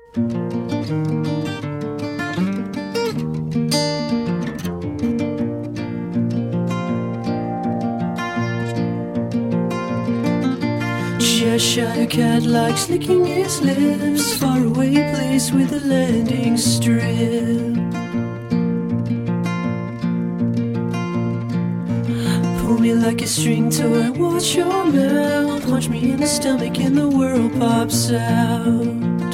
Cheshire cat likes licking his lips. Faraway place with a landing strip. Pull me like a string toy, watch your mouth. Punch me in the stomach and the world pops out.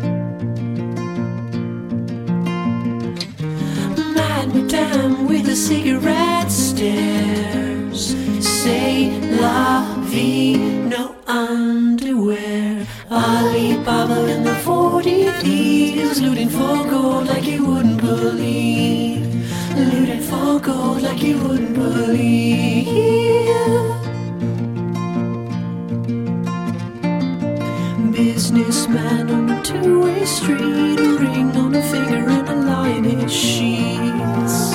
Madame with a cigarette stares. Say la vie, no underwear. Alibaba in the 40 thieves, looting for gold like you wouldn't believe. Looting for gold like you wouldn't believe. Businessman on a two-way street, a ring on a finger and a lie in his sheets.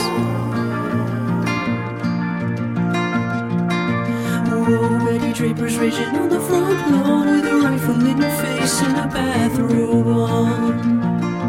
Oh, Betty Draper's raging on the front lawn with a rifle in her face and a bathrobe on.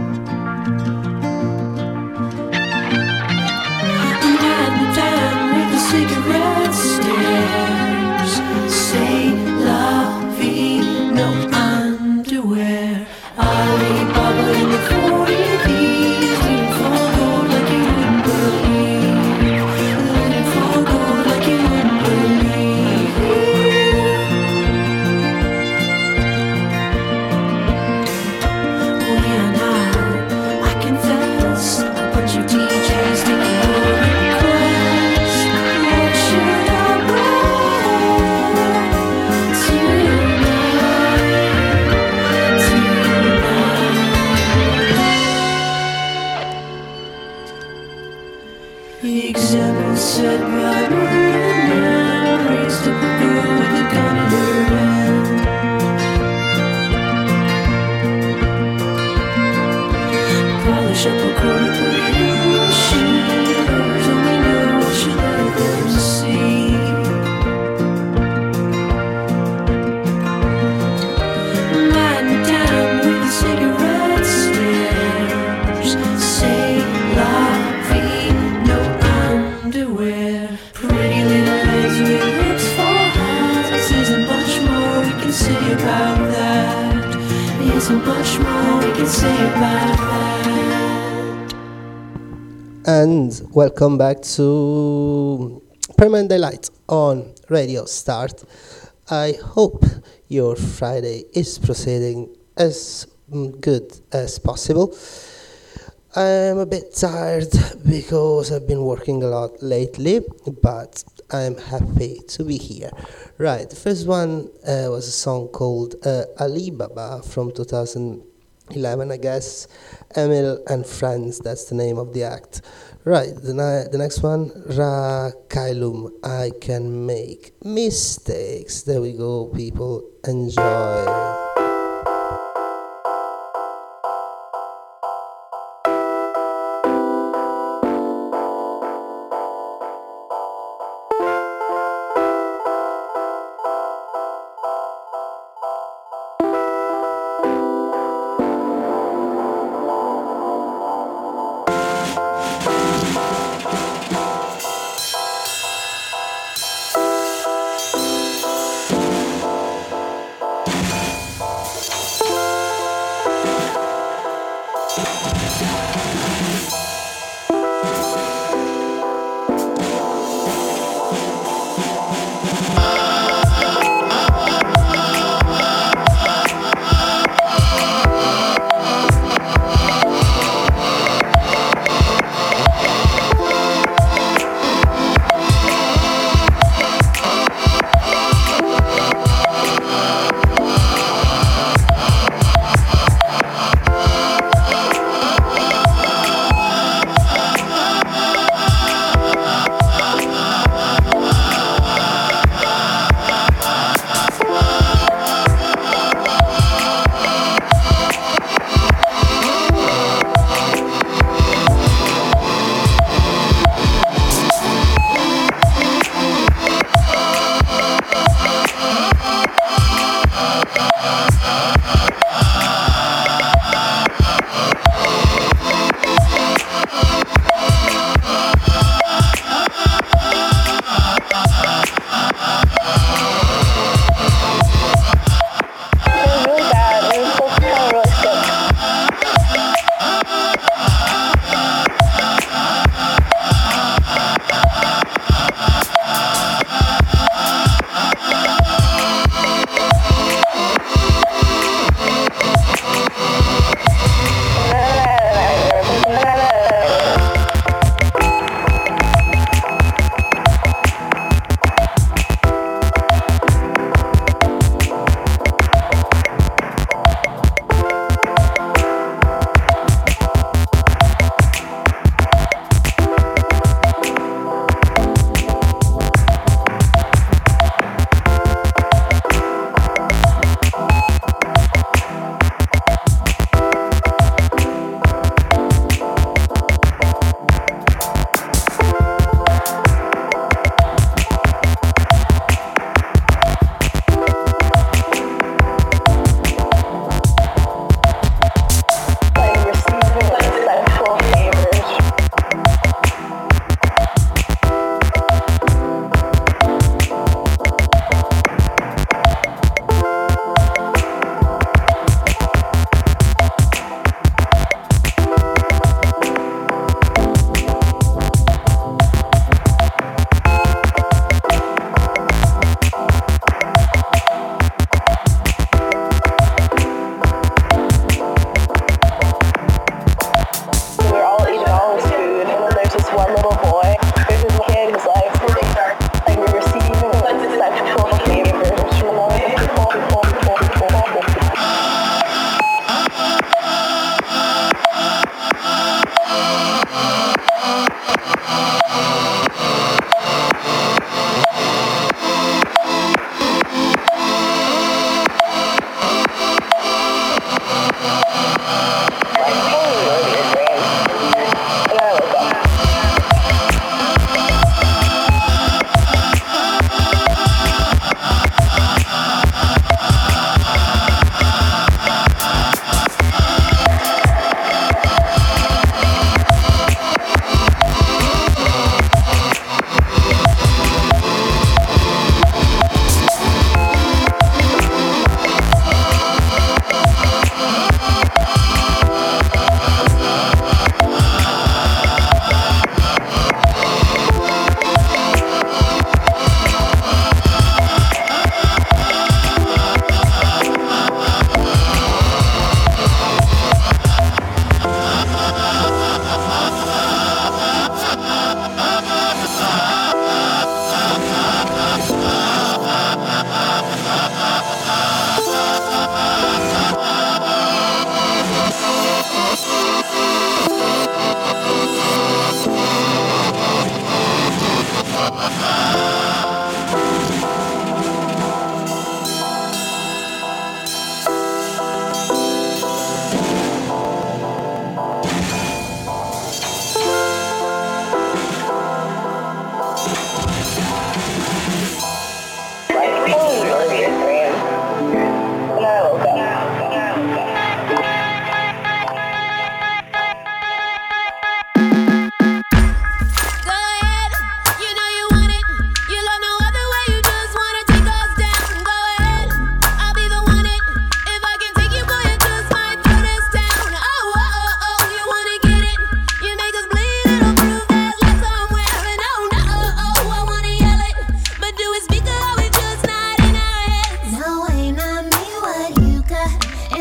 Madame with the cigarette stares. Say la vie, no underwear. Alibaba in the 40 thieves, looting for gold like you wouldn't believe. Looting for gold like you wouldn't believe. Oh yeah, now I confess, a bunch of DJs taking your request. What should I wear tonight? Example set by Marilyn Man, raised up a girl with a gun in her hand. Polish up a quarter, put it in a machine. Lovers only know what you let them see. Madame with a cigarette stares. Say la vie, no underwear. Pretty little legs with lips for hands. Isn't much more we can say about that. Isn't much more we can say about that. And welcome back to Permanent Delight on Radio Start. I hope your Friday is proceeding as good as possible. I'm a bit tired because I've been working a lot lately, but I'm happy to be here. Right, the first one was a song called Alibaba from 2011, I guess. Emil and Friends, that's the name of the act. Right, the next one, Ra Kailum, I Can Make Mistakes. There we go, people. Enjoy.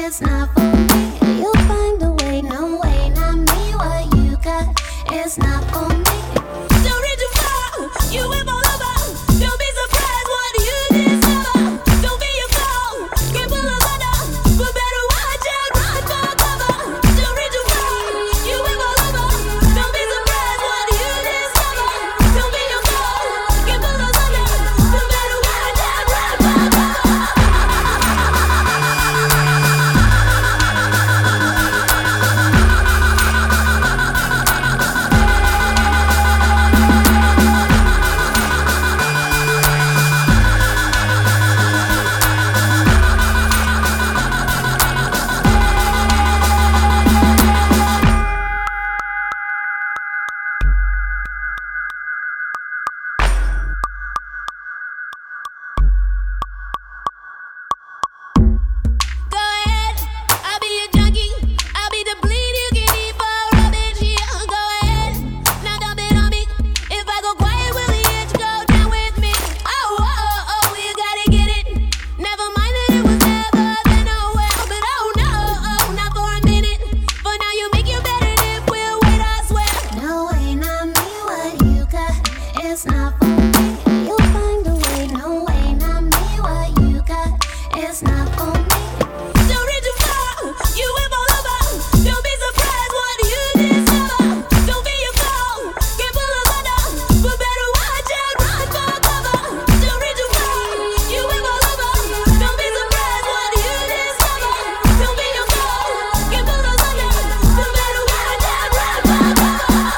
it's not for me. You'll find a way, no way, not me. What you got, it's not for me. Don't reach too far, you will fall over. Don't be surprised what you discover. Don't be a fool, get full of thunder, but better watch out, run for cover. Don't reach too far, you will fall over. Don't be surprised what you discover. Don't be a fool, get full of thunder, but better watch out, run for cover. Go ahead, I'll be your junkie. I'll be the bleed you can eat for rubbish. Yeah, go ahead, now dump it on me. If I go quiet, will the itch go down with me? Oh, oh, oh, oh, you gotta get it. Never mind that it was never then, oh well. But oh no, oh, not for a minute. For now you make you better if we'll wait, I swear. No way, not me, what you got, it's not for me. You'll find a way, no way, not me, what you got, it's not for me. Don't reach too far, you will fall over. Don't be surprised what you discover. Don't be a fool, get full of thunder, but better watch out, run for cover. Don't reach too far, you will fall over. Don't be surprised what you discover. Don't be a fool, get full of thunder, but better watch out, run for cover.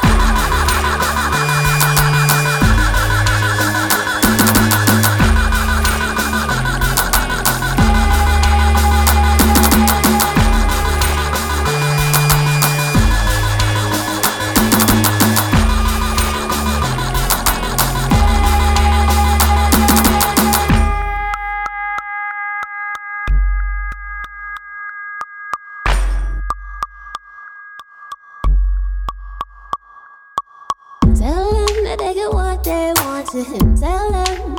Tell them that they get what they want to him. Tell them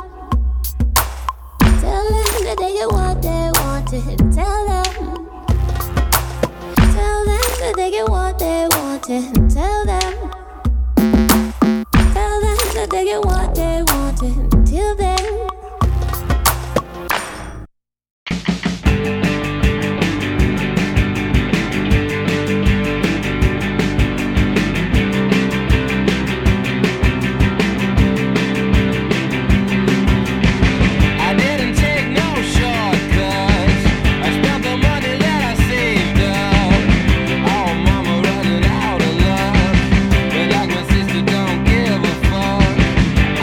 that they get what they want to him. Tell them that they get what they want to him. Tell them that they get what they want to him. Till then. I didn't take no shortcuts. I spent the money that I saved up. Oh, mama running out of love, but like my sister don't give a fuck.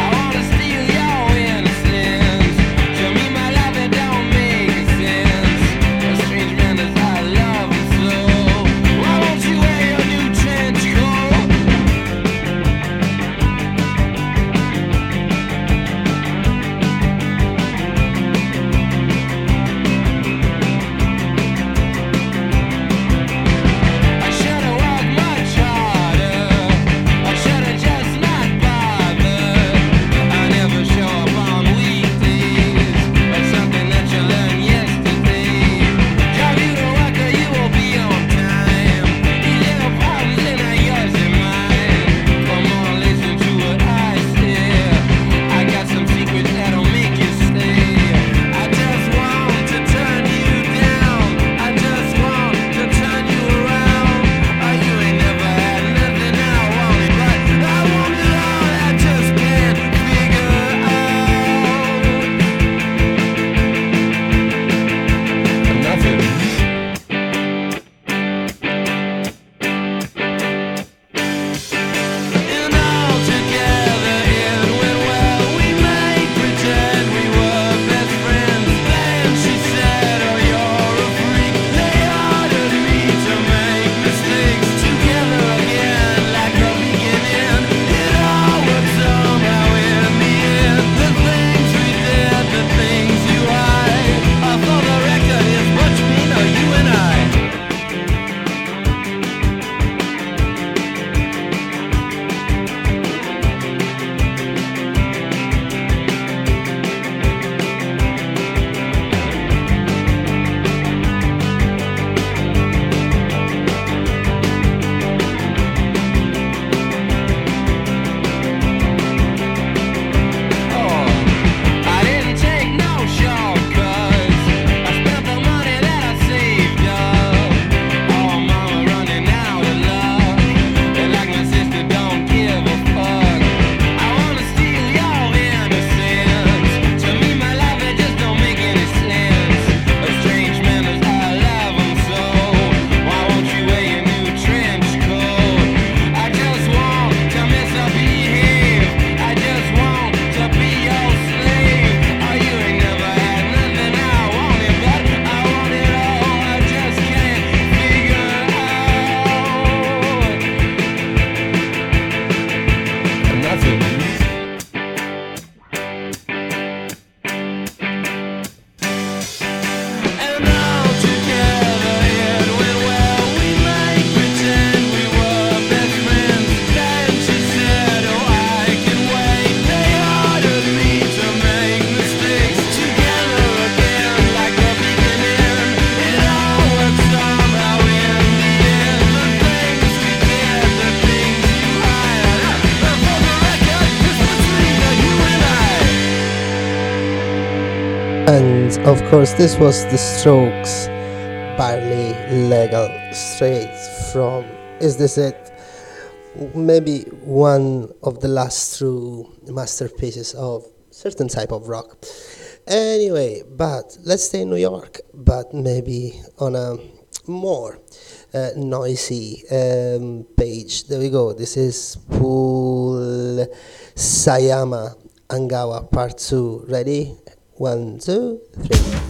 And of course, this was The Strokes, Barely Legal, straight from Is This It? Maybe one of the last true masterpieces of certain type of rock. Anyway, but let's stay in New York, but maybe on a more noisy page. There we go. This is Pool Sayama Angawa Part 2. Ready? 1, 2, 3.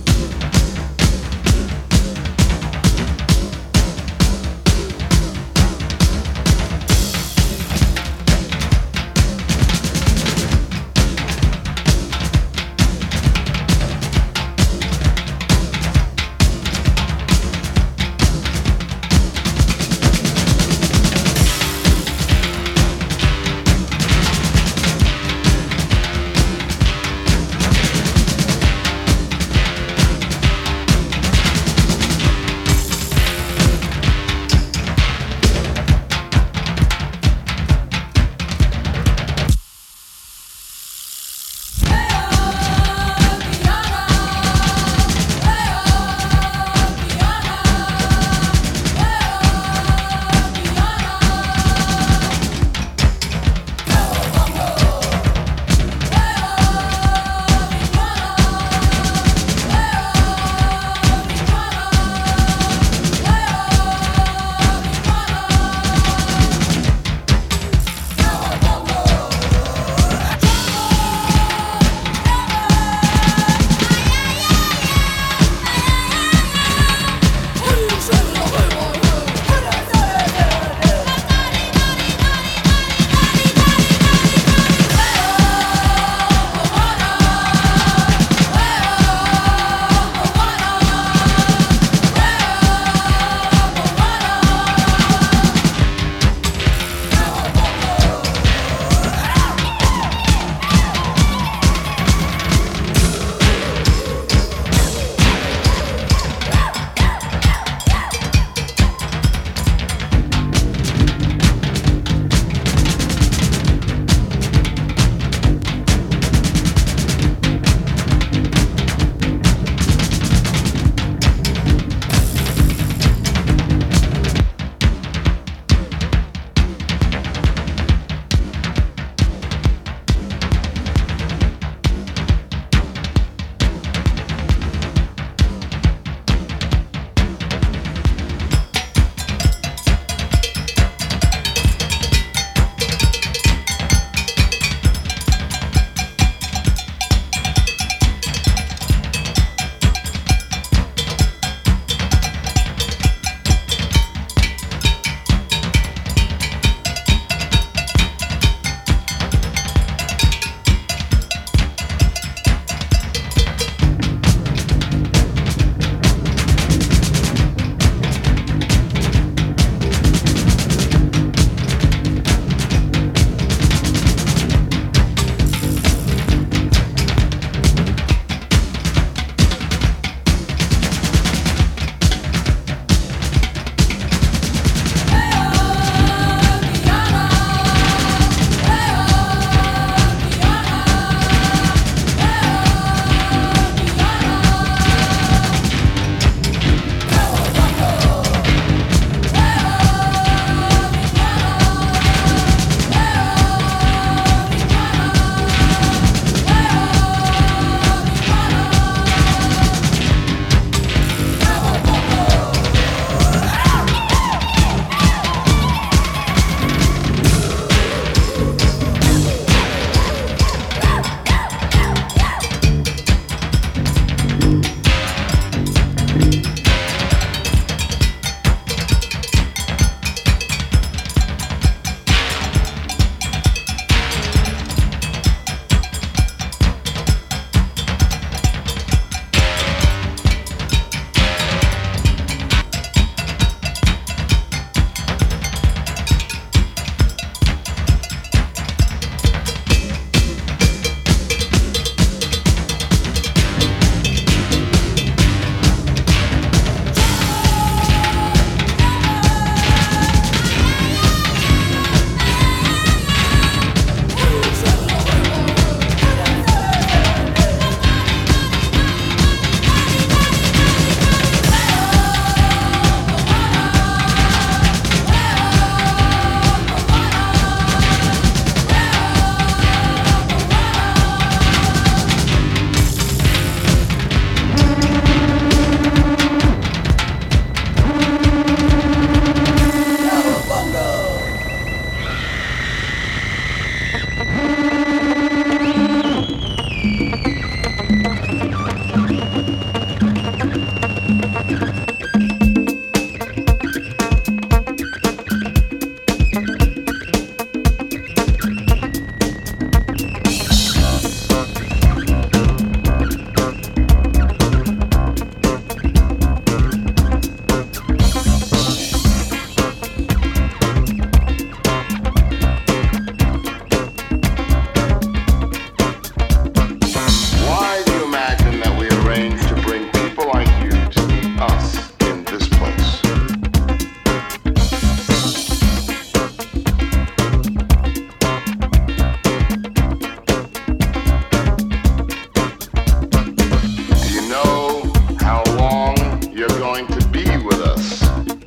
to be with us.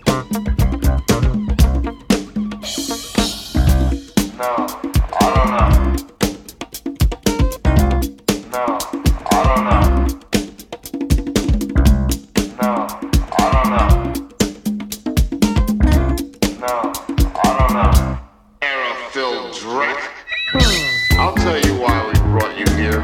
No, I don't know. No, I don't know. No, I don't know. No, I don't know. Era-filled drink. I'll tell you why we brought you here.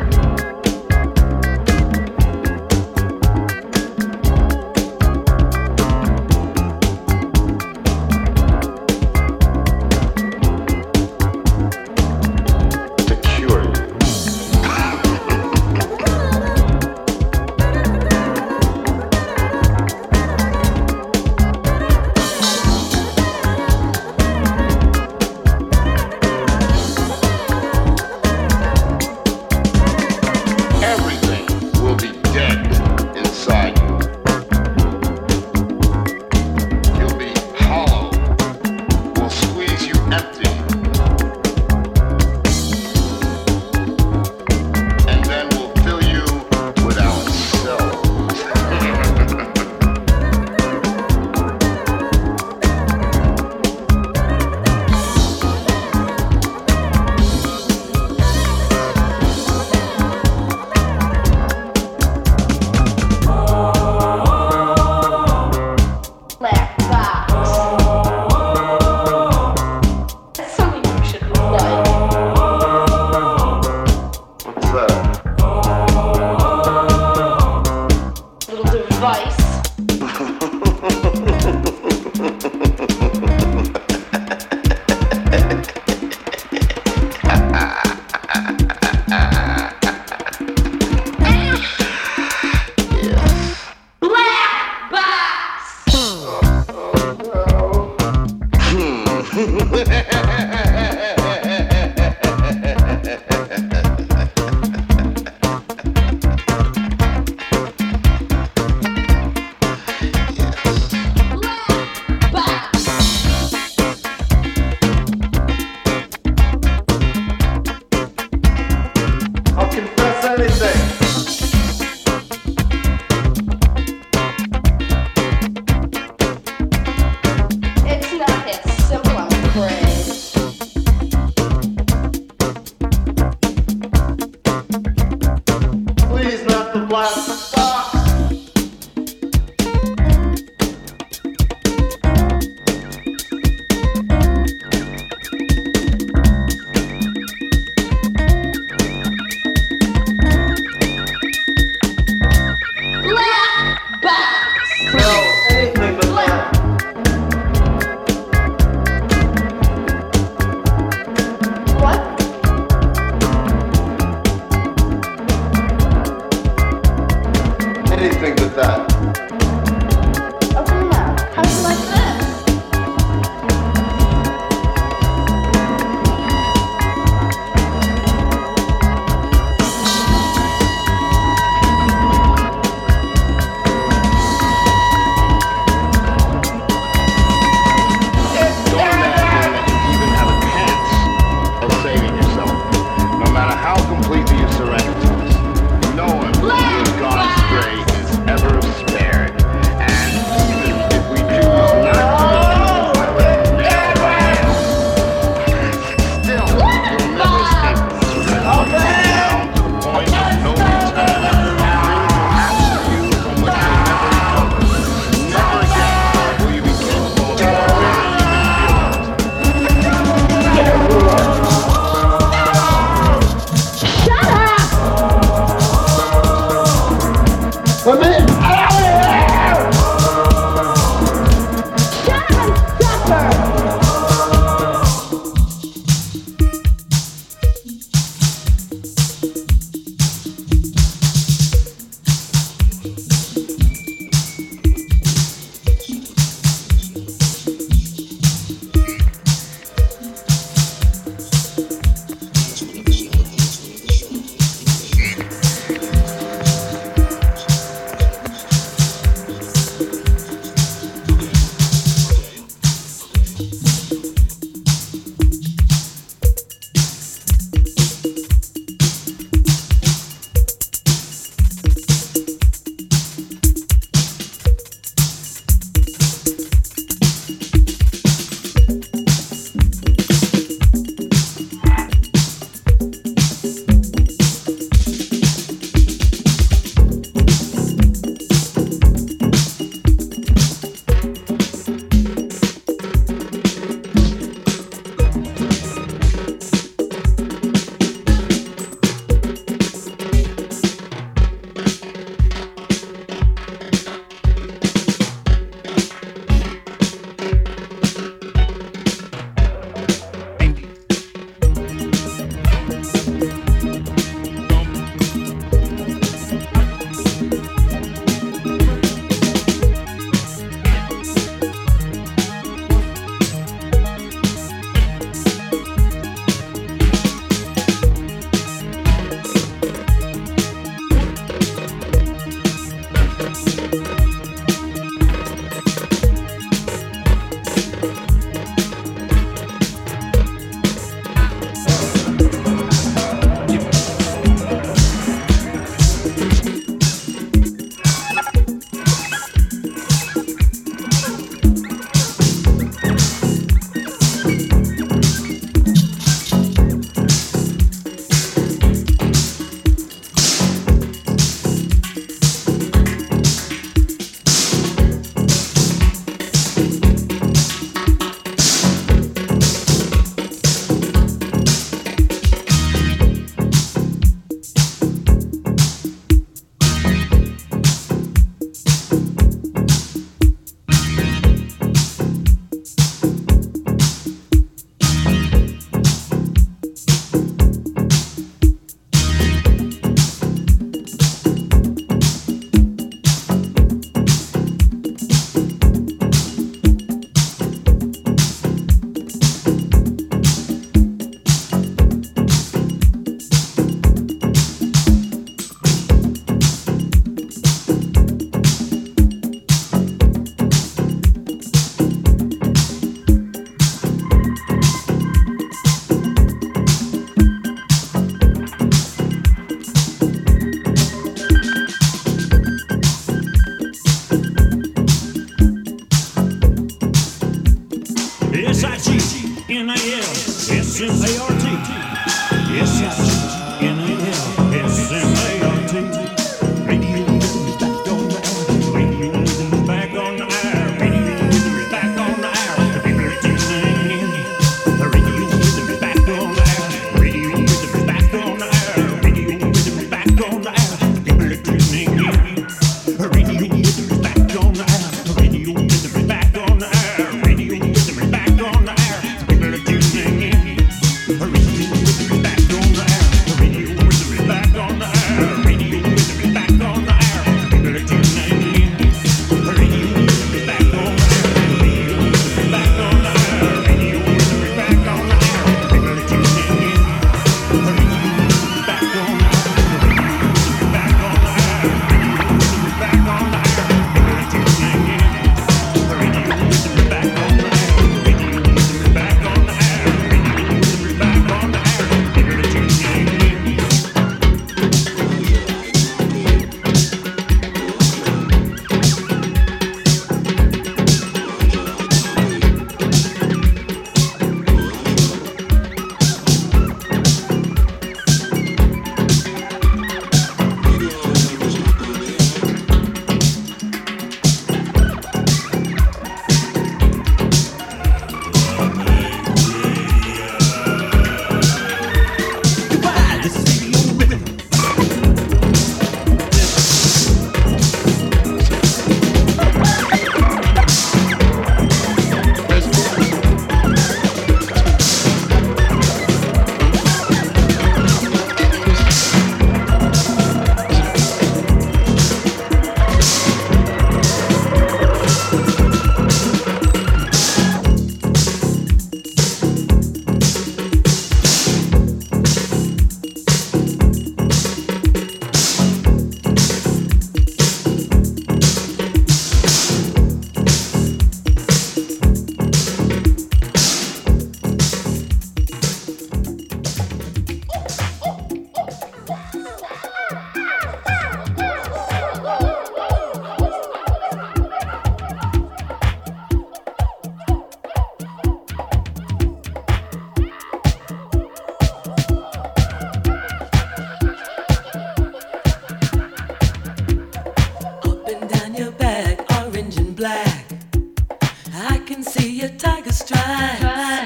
see your tiger stripes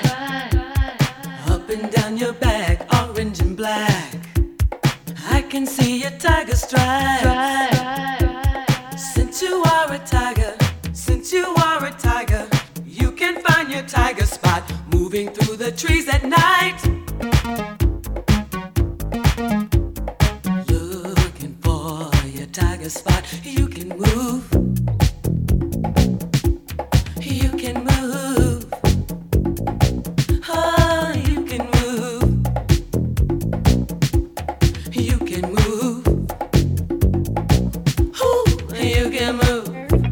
up and down your back, orange and black. I can see your tiger stripes. Since you are a tiger, since you are a tiger, you can find your tiger spot moving through the trees at night. Looking for your tiger spot, you can move. You can move. Oh, you can move. You can move. Ooh, you can move.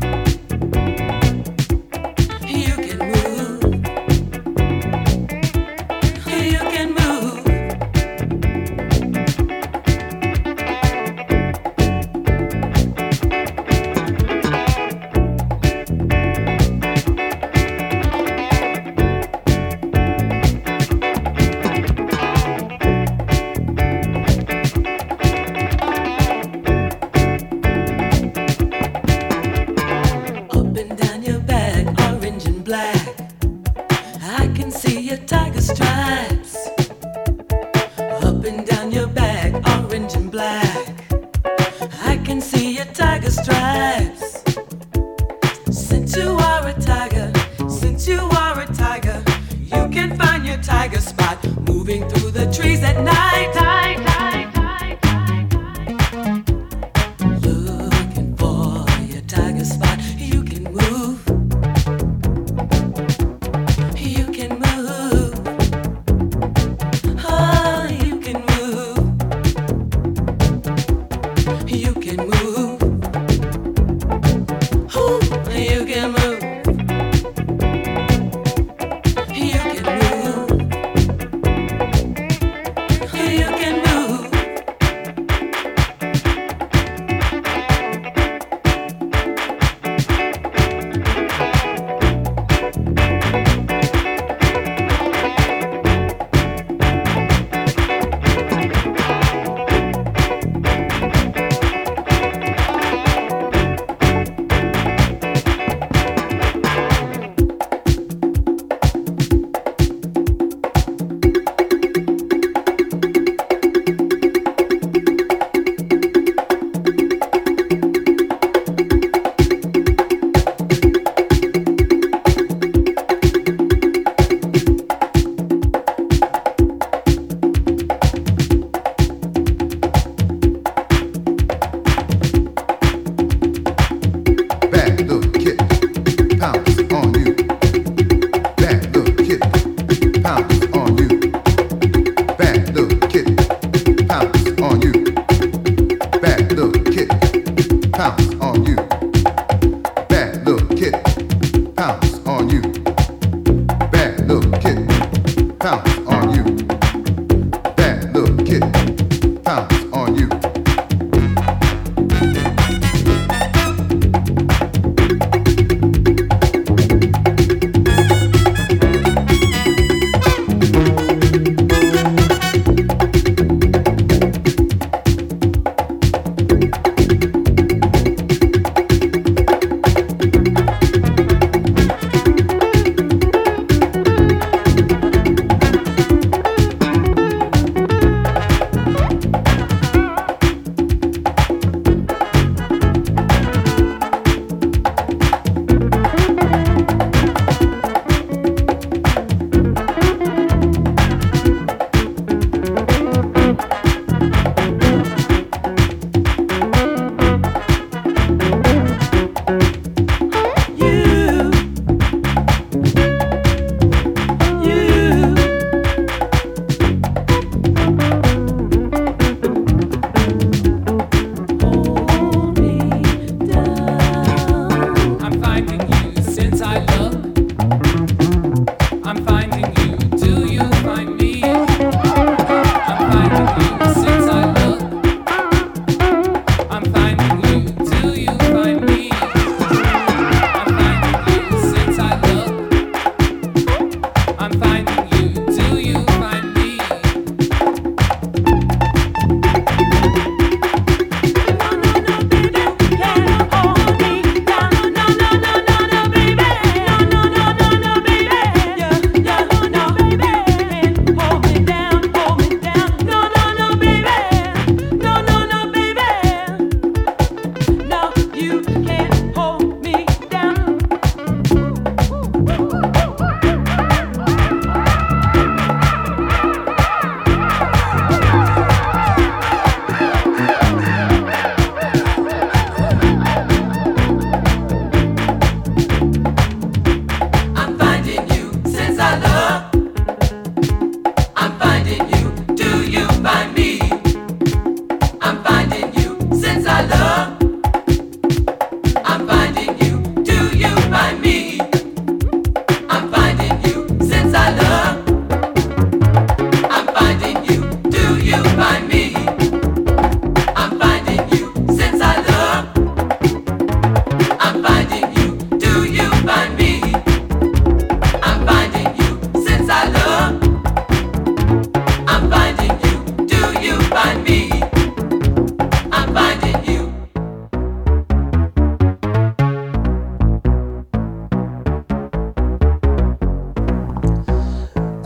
You can move. You can move. Up and down your back, orange and black. I can see your tiger stripes. Up and down your back, orange and black. I can see your tiger stripes. Since you are a tiger, since you are a tiger, you can find your tiger spot moving through the trees at night. Looking for your tiger spot, you can move. You can move. Oh, you can move. You can move. Ooh, you can move. You can move. You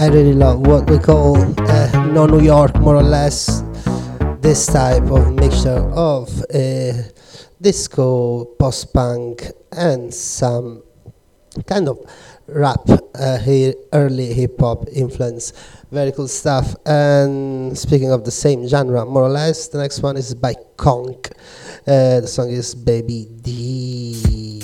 I really love what we call no New York, more or less. This type of mixture of disco, post-punk, and some kind of rap, early hip-hop influence. Very cool stuff. And speaking of the same genre, more or less, the next one is by Conk. The song is Baby D.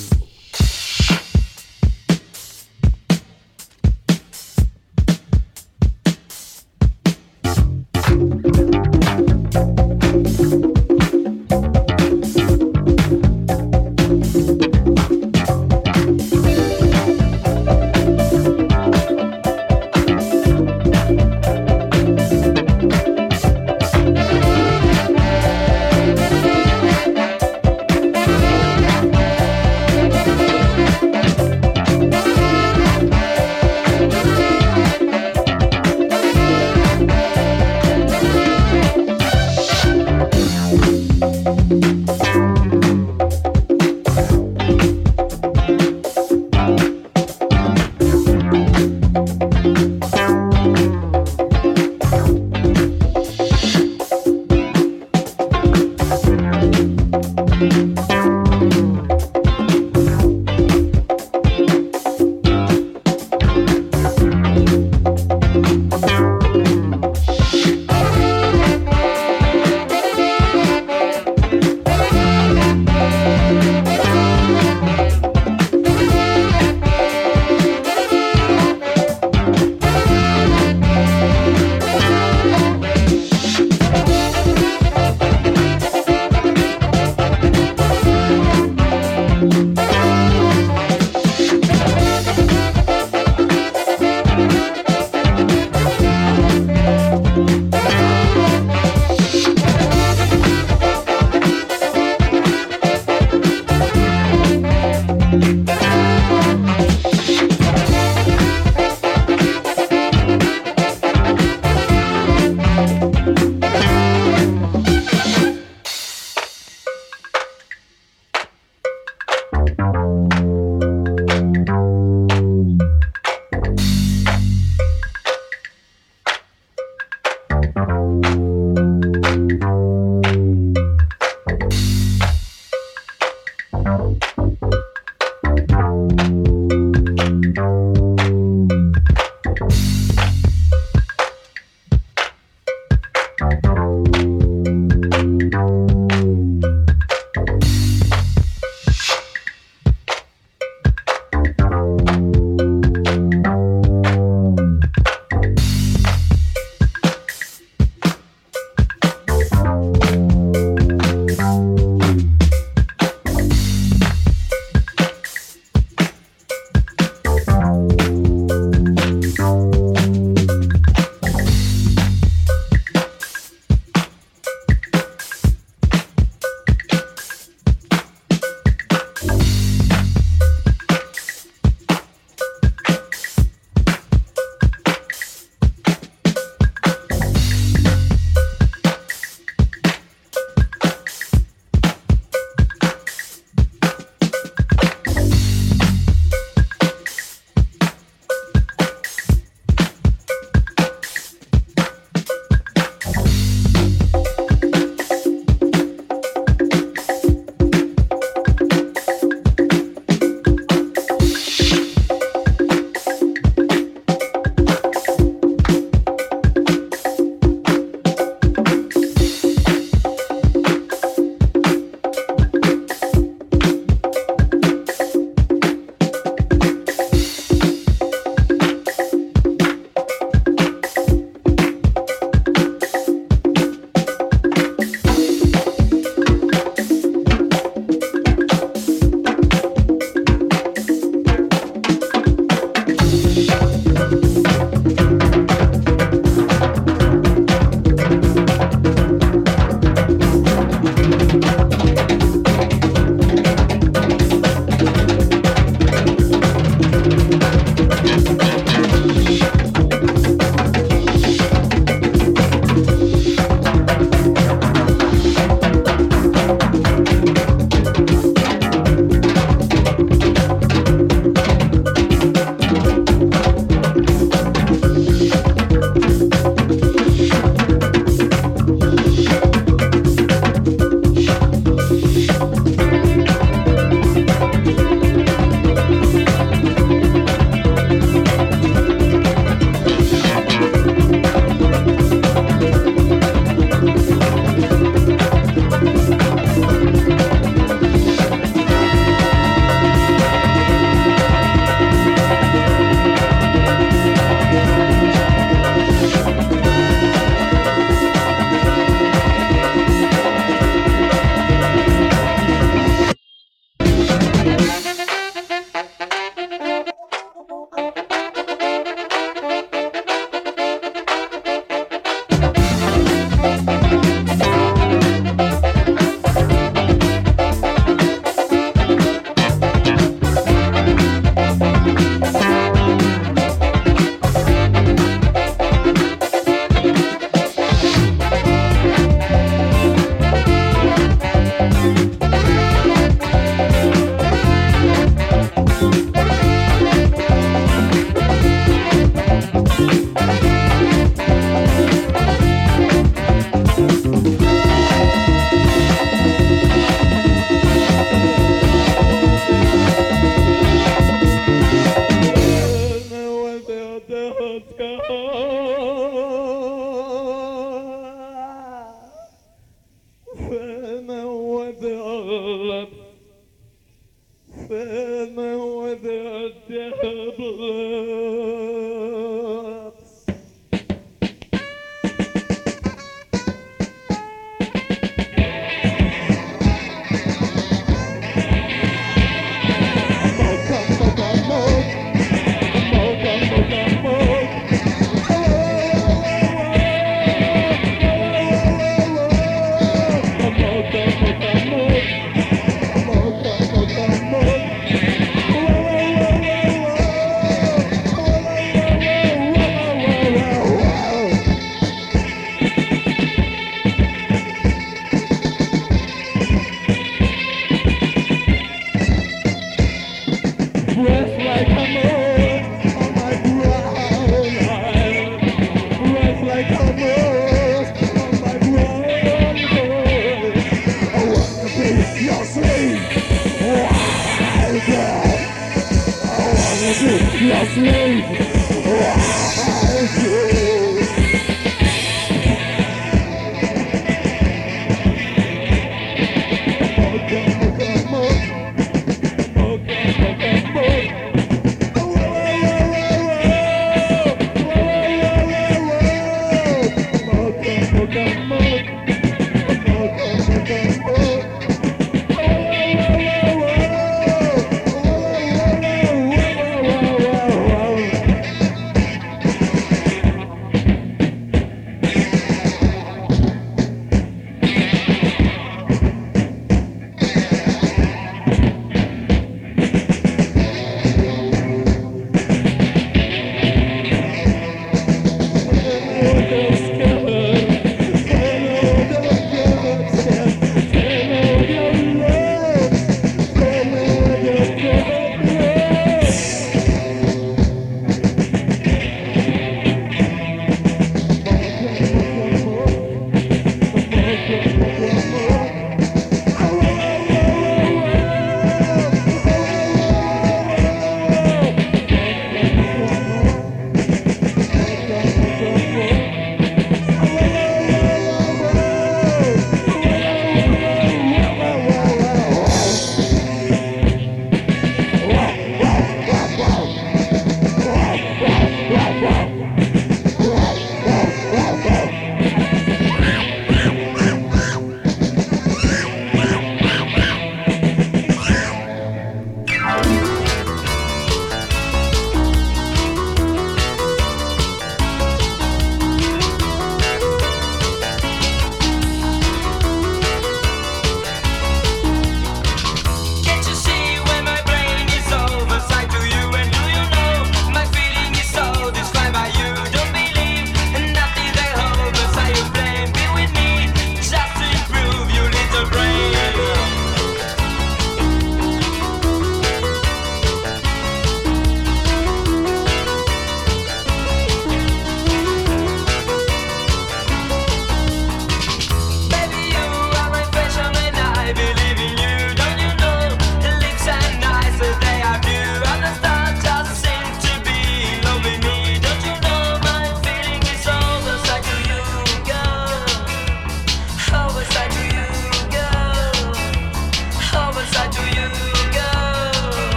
with the devil.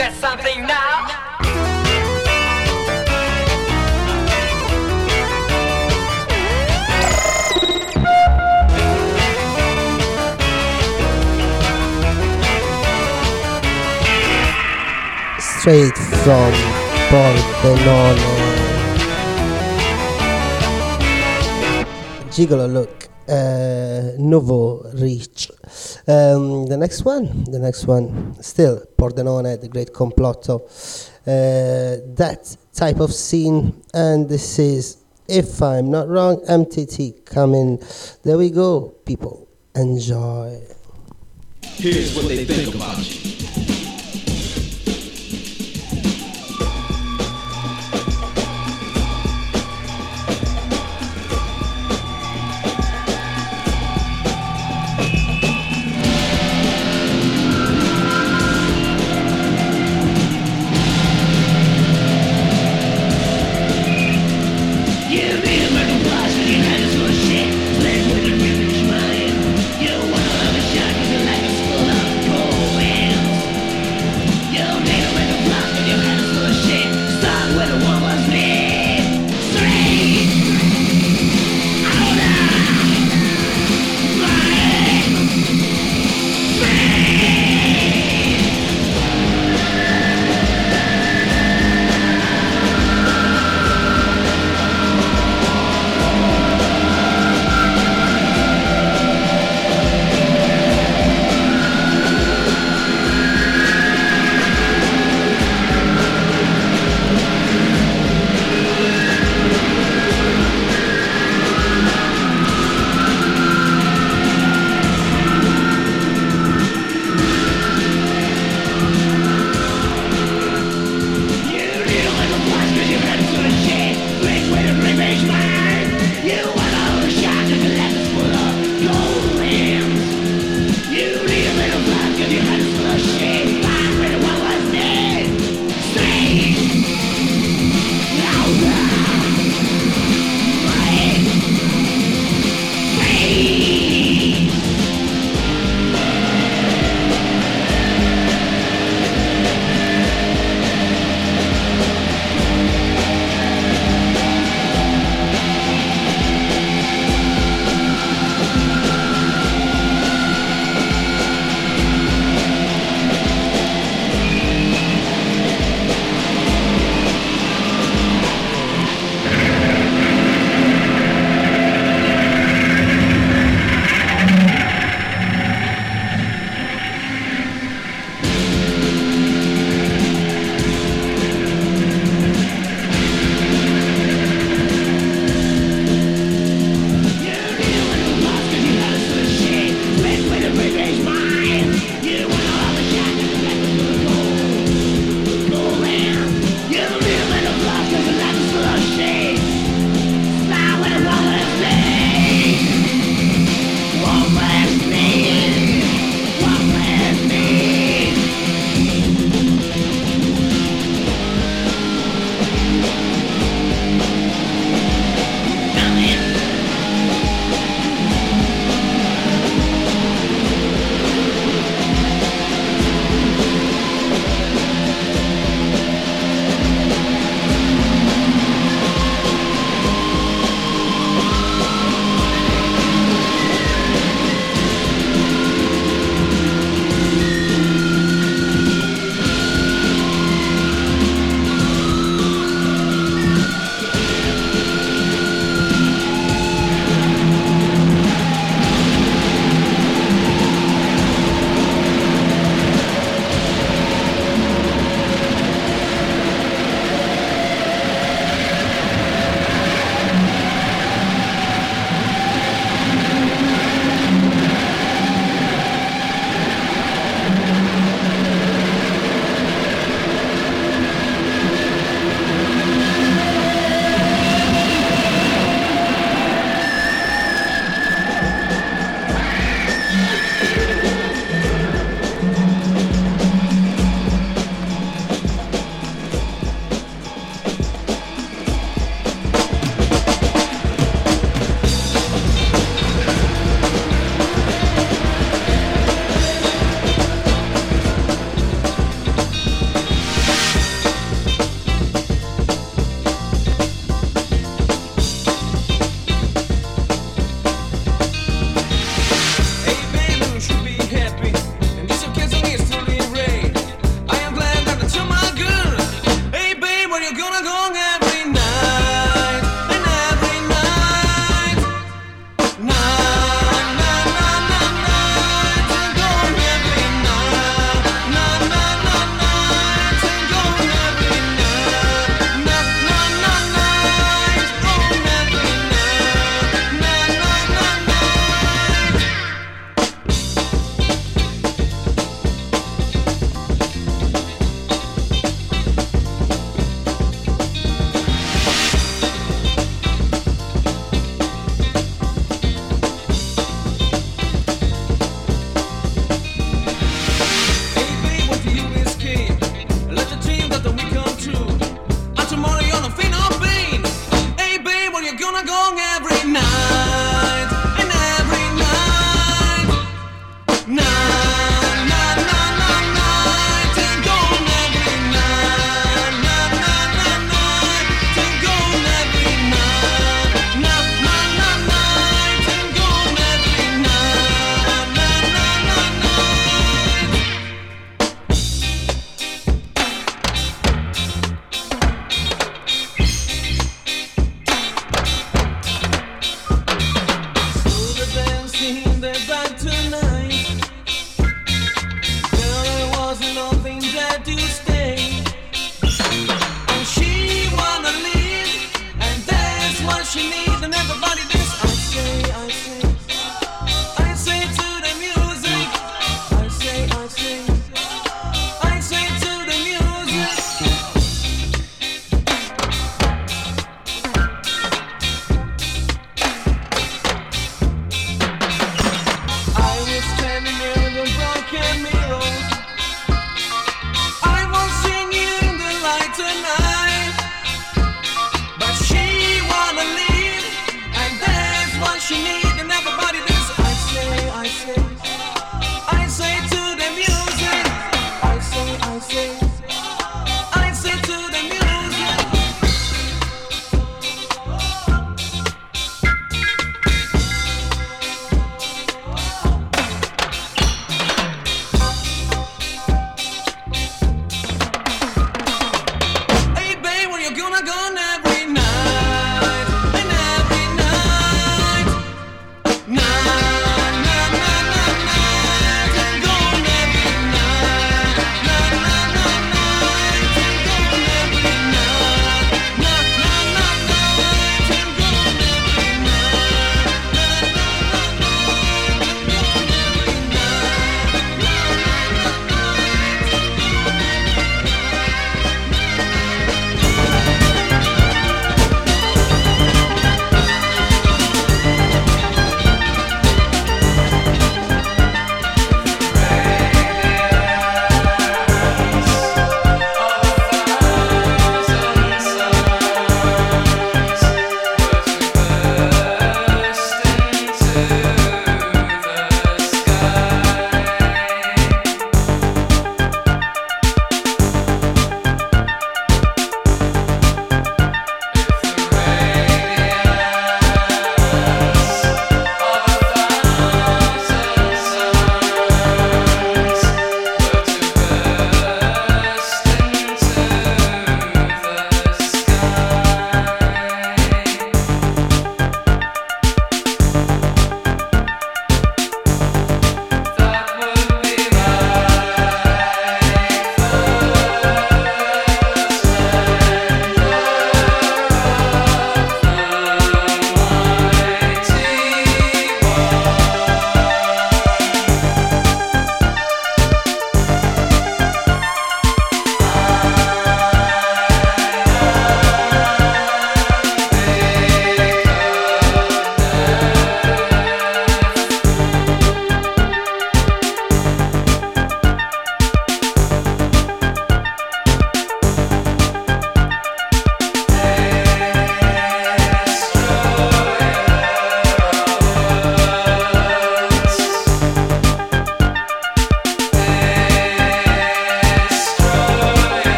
that's something now. Straight from Pordenone. Gigolo look, Nouveau Reach. The next one, still Pordenone, the great complotto. That type of scene, and this is, if I'm not wrong, MTT coming. There we go, people. Enjoy. Here's what they think about you. You wanna have a shot, 'cause your life is full of romance.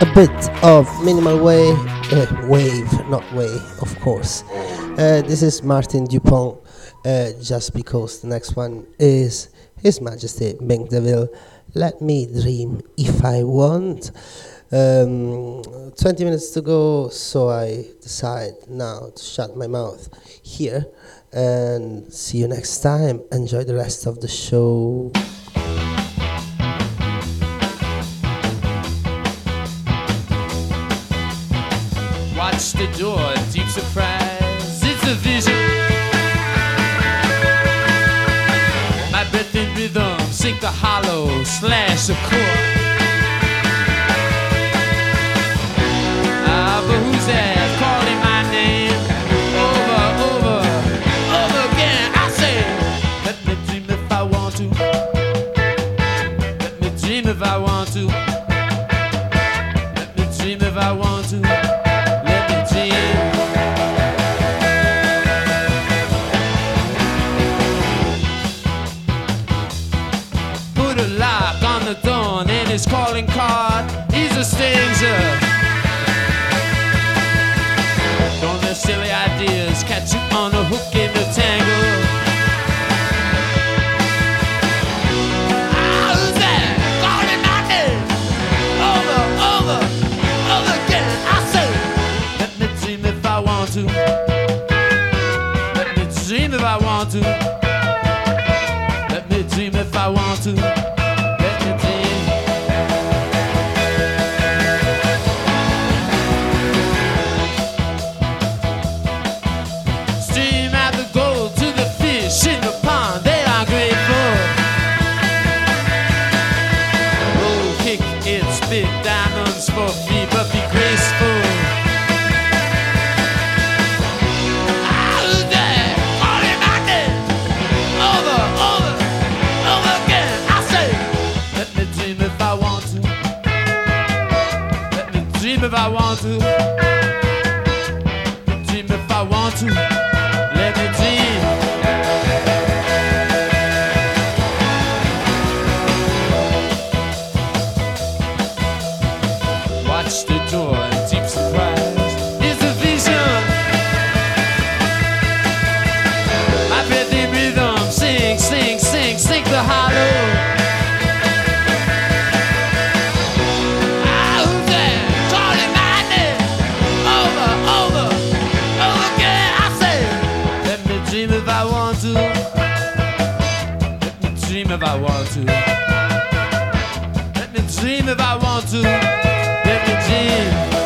a bit of minimal wave, not way, of course. This is Martin Dupont, just because the next one is His Majesty Bing DeVille. Let me dream if I want. 20 minutes to go, so I decide now to shut my mouth here and see you next time. Enjoy the rest of the show. Watch the door, deep surprise, it's a vision. My breath in rhythm, sink the hollow, slash the chord. But who's that calling my name? Over again. I say, let me dream if I want to. Let me dream if I want to. Let me dream if I want to. Let me dream. Put a lock on the door and his calling card. He's a stranger. Don't let silly ideas catch you on a hook in the tangle. Ah, who's that? Calling my name. Over again. I say, let me dream if I want to. Let me dream if I want to. Let me dream if I want to. Let me dream. In the pond, they are grateful. Roll, kick, it, spit, diamonds for free, but be graceful. Who's that? Calling my name. Over again. I say, let me dream if I want to. Let me dream if I want to. Let me dream if I want to. Let me dream. Watch the door in deep surprise. It's a vision. My breath in rhythm, sing, sing, sing, sing the hollow. Ah, who's that? Calling my name. Over again. I say, let me dream if I want to. Let me dream if I want to. Let me dream if I want to. Let me dream.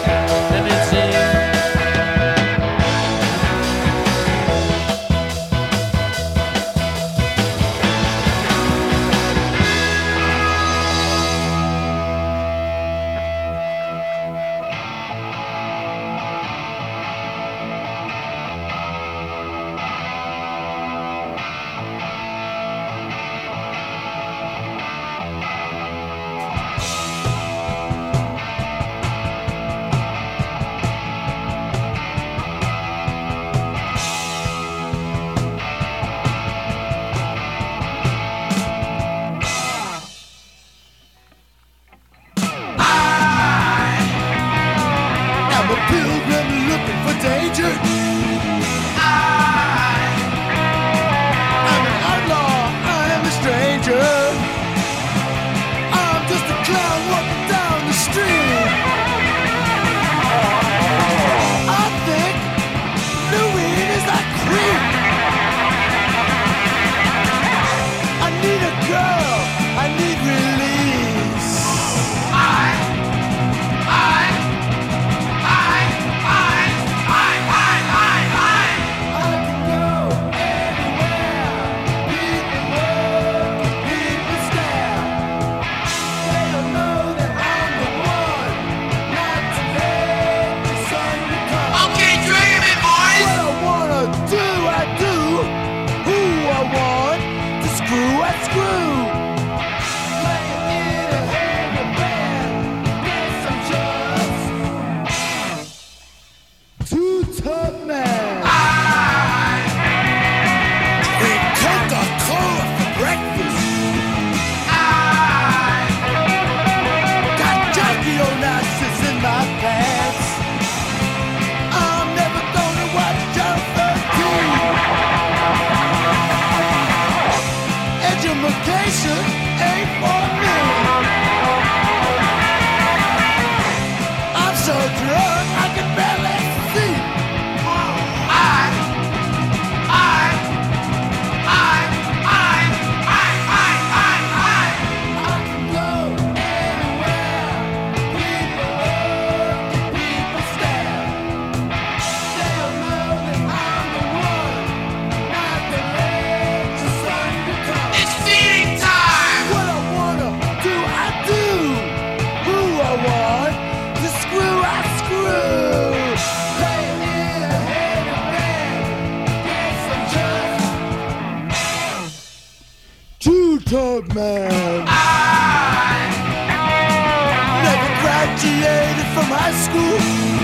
old man. I never graduated from high school.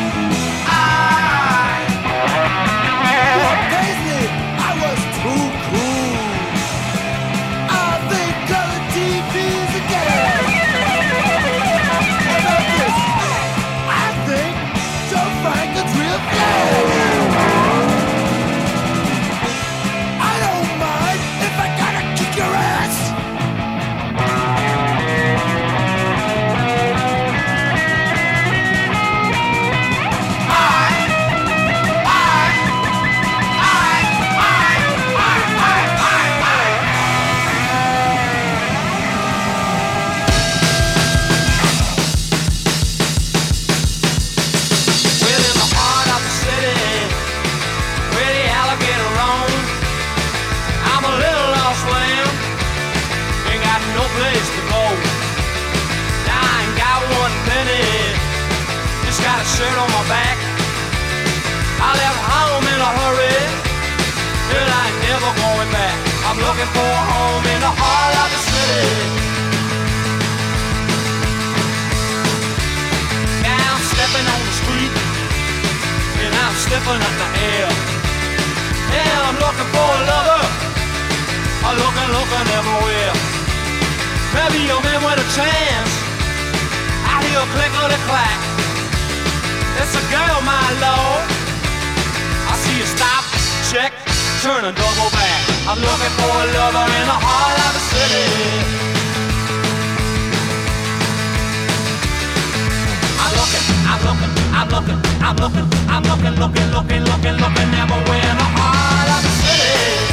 What pays me? I was too cool. I think color TV's a ghetto. About this, I think Joe Franklin's real gay. I don't mind if I gotta kick your ass. Well, in the heart of the city, where the alligator roam, I'm a little lost lamb, ain't got no place to go. Now I ain't got one penny, just got a shirt on my back. I left home in a hurry, and I ain't never going back. I'm looking for a home in the heart of the city. Now I'm stepping on the street, and I'm sniffing at the air. Yeah, I'm looking for a lover, I'm looking everywhere. Maybe a man with a chance, I hear a click or a clack. It's a girl, my lord. I see you stop, check, turn and double back. I'm looking for a lover in the heart of the city. I'm looking everywhere in the heart of the city.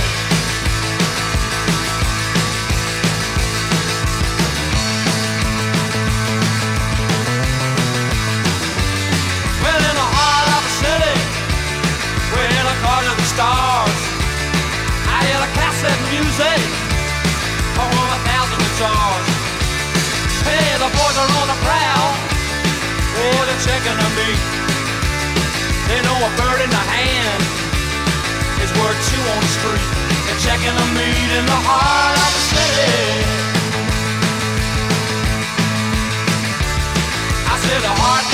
Well, in the heart of the city, where the cars of the stars, I hear the cassette music from 1,000 guitars. Hey, the boys are on the prowl, oh, they're checking on me. They know a bird in the hand is worth two on the street. They're checking the meat in the heart of the city. I said the heart